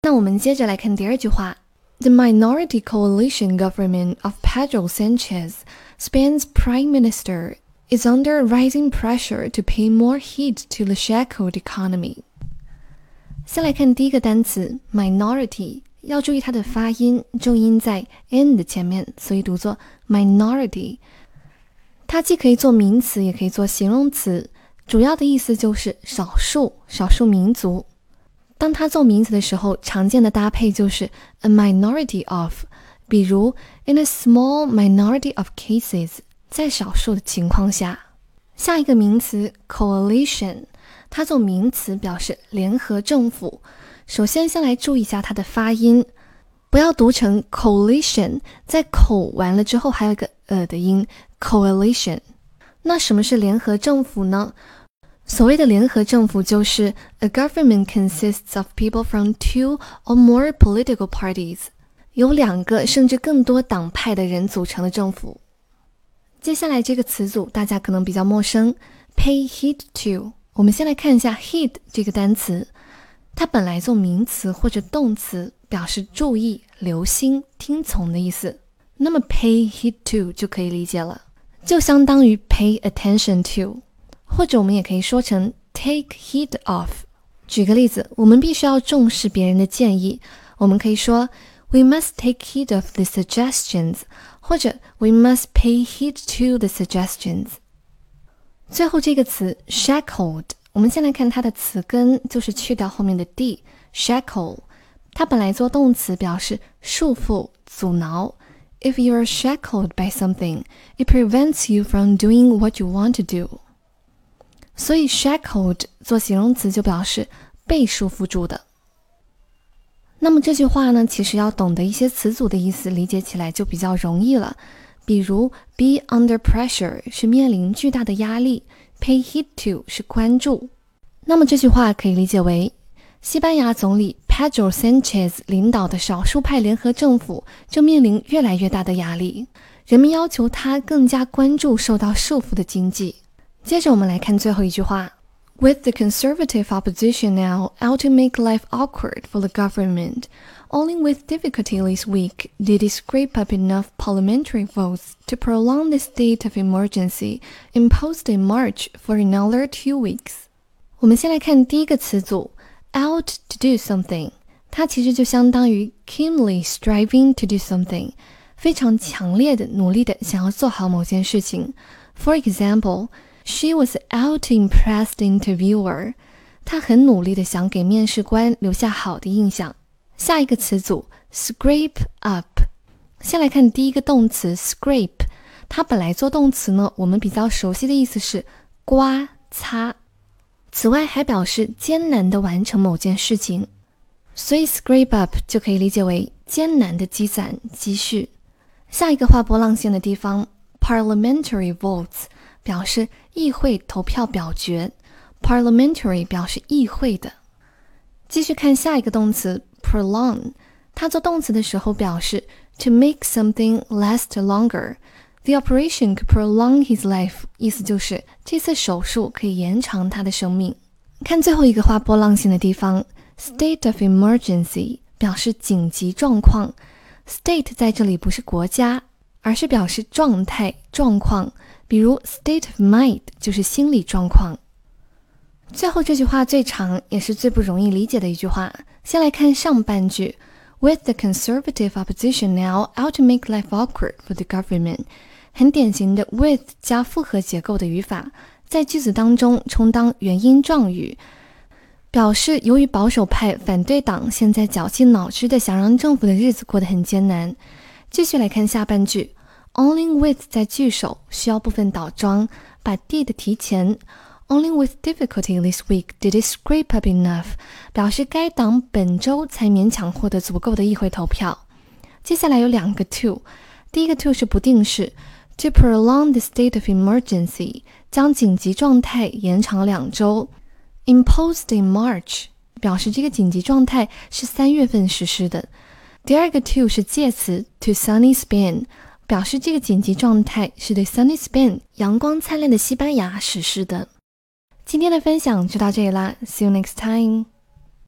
那我们接着来看第二句话。The minority coalition government of Pedro Sanchez, Spain's prime minister, is under rising pressure to pay more heed to the shackled economy. 先来看第一个单词 minority， 要注意它的发音，重音在 n 的前面，所以读作 minority。它既可以做名词，也可以做形容词，主要的意思就是少数、少数民族。当它做名词的时候，常见的搭配就是 a minority of， 比如 in a small minority of cases， 在少数的情况下。下一个名词 coalition， 它做名词表示联合政府。首先先来注意一下它的发音，不要读成 coalition， 在口完了之后还有一个的音 coalition。 那什么是联合政府呢？所谓的联合政府就是 a government consists of people from 2 or more political parties， 由2个甚至更多党派的人组成的政府。接下来这个词组大家可能比较陌生 pay heed to。 我们先来看一下 heed 这个单词，它本来做名词或者动词，表示注意、留心、听从的意思。那么 pay heed to 就可以理解了，就相当于 pay attention to，或者我们也可以说成 take heed of。 举个例子，我们必须要重视别人的建议，我们可以说 We must take heed of the suggestions， 或者 We must pay heed to the suggestions。 最后这个词 shackled， 我们先来看它的词根，就是去掉后面的 d shackle， 它本来做动词表示束缚、阻挠。 If you are shackled by something, it prevents you from doing what you want to do。所以 shackled 做形容词就表示被束缚住的。那么这句话呢，其实要懂得一些词组的意思，理解起来就比较容易了。比如 be under pressure 是面临巨大的压力， pay heed to 是关注。那么这句话可以理解为，西班牙总理 Pedro Sanchez 领导的少数派联合政府正面临越来越大的压力，人们要求他更加关注受到束缚的经济。接着我们来看最后一句话 With the conservative opposition now out to make life awkward for the government, only with difficulty this week did it scrape up enough parliamentary votes to prolong the state of emergency imposed in March for another 2 weeks. 我们先来看第一个词组 out to do something， 它其实就相当于 keenly striving to do something， 非常强烈的努力的想要做好某件事情。 For example，She was out to impress the interviewer， 她很努力地想给面试官留下好的印象。下一个词组 scrape up， 先来看第一个动词 scrape， 它本来做动词呢，我们比较熟悉的意思是刮擦，此外还表示艰难地完成某件事情，所以 scrape up 就可以理解为艰难地积攒积蓄。下一个画波浪线的地方 parliamentary votes表示议会投票表决， parliamentary 表示议会的。继续看下一个动词 prolong， 它做动词的时候表示 to make something last longer， the operation could prolong his life， 意思就是这次手术可以延长他的生命。看最后一个画波浪线的地方 state of emergency 表示紧急状况， state 在这里不是国家，而是表示状态、状况，比如 state of mind 就是心理状况。最后这句话最长也是最不容易理解的一句话，先来看上半句 With the conservative opposition now out to make life awkward for the government， 很典型的 with 加复合结构的语法，在句子当中充当原因状语，表示由于保守派反对党现在绞尽脑汁的想让政府的日子过得很艰难。继续来看下半句Only with 在句首需要部分倒装，把 did 提前。Only with difficulty this week did it scrape up enough， 表示该党本周才勉强获得足够的议会投票。接下来有2个 to， 第一个 to 是不定式 to prolong the state of emergency， 将紧急状态延长2周。Imposed in March， 表示这个紧急状态是3月份实施的。第二个 to 是介词 to sunny Spain，表示这个紧急状态是对 Sunny Spain 阳光灿烂的西班牙实施的。今天的分享就到这里啦 ，See you next time。